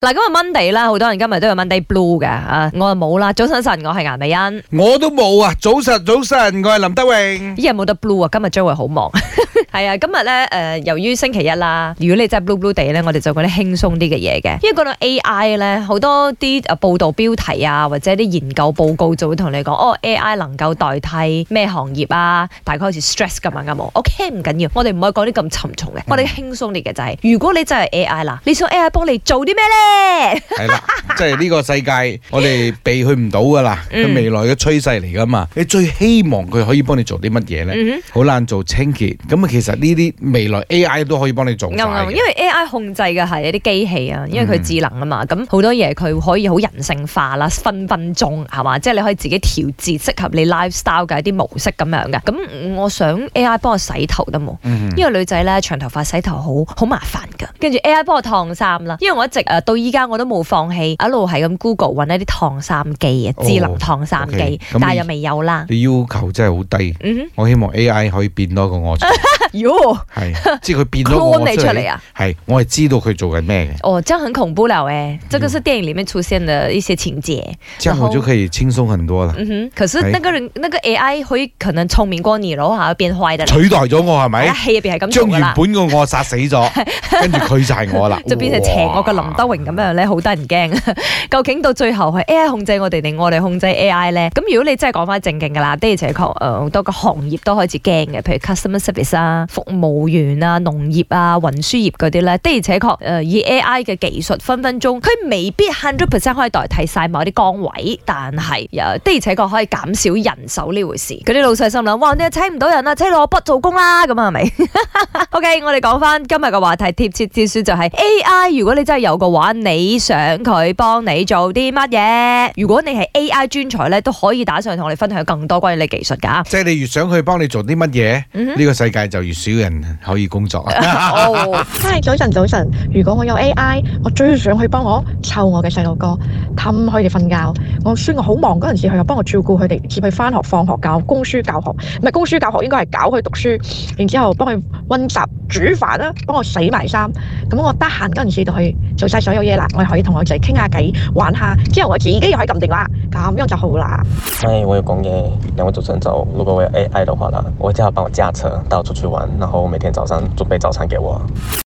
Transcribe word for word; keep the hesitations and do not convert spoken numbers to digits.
嗱，今日 Monday 啦，好多人今日都有 Monday Blue 嘅啊，我就冇啦。早晨晨，我係顏美欣， 我都冇啊。早晨早晨，我係林德榮。 依日冇得 Blue 啊，今日將會好忙。係啊，今日咧誒，由於星期一啦，如果你真係 Blue Blue 地咧，我哋就講啲輕鬆啲嘅嘢嘅。因為講到 A I 咧，好多啲誒報道標題啊，或者啲研究報告就會同你講，哦 A I 能夠代替咩行業啊？大概好似 stress 咁樣噶冇 ？OK 唔緊要，我哋唔可以講啲咁沉重嘅，我哋輕鬆啲嘅就係、是，如果你真係 A I 啦，你想 A I 幫你做啲咩咧？ 係啦，即係呢個世界，我哋避佢唔到噶啦，佢、嗯、未來嘅趨勢嚟噶嘛。你最希望佢可以幫你做啲乜嘢咧？好、嗯、難做清潔，咁啊，其實呢啲未來 A I 都可以幫你做晒嘅。 因為 A I 控制嘅係一啲機器啊，因為佢智能啊嘛，咁好、嗯、多嘢佢可以好人性化啦，分分鐘係嘛，即係你可以自己調節適合你 lifestyle 嘅一啲模式咁樣嘅。咁我想 A I 幫我洗頭得冇？嗯、因為女仔咧長頭髮洗頭好好麻煩噶，跟住 A I 幫我燙衫啦。因為我一直誒到依家我都冇放棄，一路係咁 Google 揾一啲燙衫機啊，智能燙衫機，哦 okay、但係又未有啦。 你要求真係好低，嗯、我希望 A I 可以變多個我出嚟。喲，係，即係佢變多個我出嚟啊！係，我係知道佢做緊咩嘅。哦，這樣很恐怖了誒！這個是電影裡面出現的一些情節。這樣我就可以輕鬆很多啦。嗯哼， 可是那個人，那個 A I 會可能聰明過你咯，嚇變壞的。 取代咗我係咪？ 戲入邊係咁將原本個我殺死咗，跟住佢就係我啦。 就變成邪惡嘅林德榮咁樣咧，好得人驚。究竟到最後係 A I 控制我哋定我哋控制 A I 咧？咁如果你真係講翻正經㗎啦，的而且確誒好多個行業都開始驚嘅，譬如 customer service 啊、服務員啊、農業啊、運輸業嗰啲咧，的而且確誒以 A I 嘅技術分分鐘，佢未必 hundred percent 可以代替晒某啲崗位，但係的而且確可以減少人手呢回事。嗰啲老細心諗，哇！你請唔到人啦，請落筆做工啦，咁啊係咪 ？OK， 我哋講翻今日嘅話題，貼切之書就係 A I。如果你真係有嘅話，你想佢幫你做啲乜嘢？如果你係 A I 專才咧，都可以打上嚟同我哋分享更多關於你技術㗎。 即係你越想佢幫你做啲乜嘢，呢、嗯、個世界就越少人可以工作啊！ 哦，嗨，早晨早晨。如果我有 A I， 我最想去幫我湊我嘅細路哥，氹佢哋瞓覺。我雖然我好忙嗰陣時，佢又幫我照顧佢哋，接佢翻學、放學教供書教學，唔係供書教學，應該係教佢讀書，然之後幫佢溫習、煮飯啦，幫我洗埋衫。咁我得閒嗰陣時就去做晒所有嘢啦，我可以同我仔傾下偈、玩下，之後我自己又可以撳電話，咁樣就好啦。 嗨，我有講嘢，兩位主持人早。如果我有 A I 的話啦，我會叫他幫我駕車帶我出去玩，然後每天早上準備早餐給我。